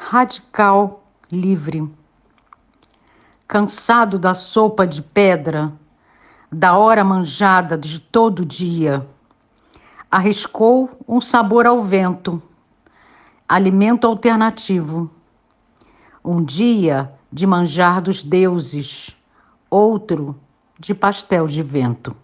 Radical livre. Cansado da sopa de pedra, da hora manjada de todo dia, arriscou um sabor ao vento, alimento alternativo. Um dia de manjar dos deuses, outro de pastel de vento.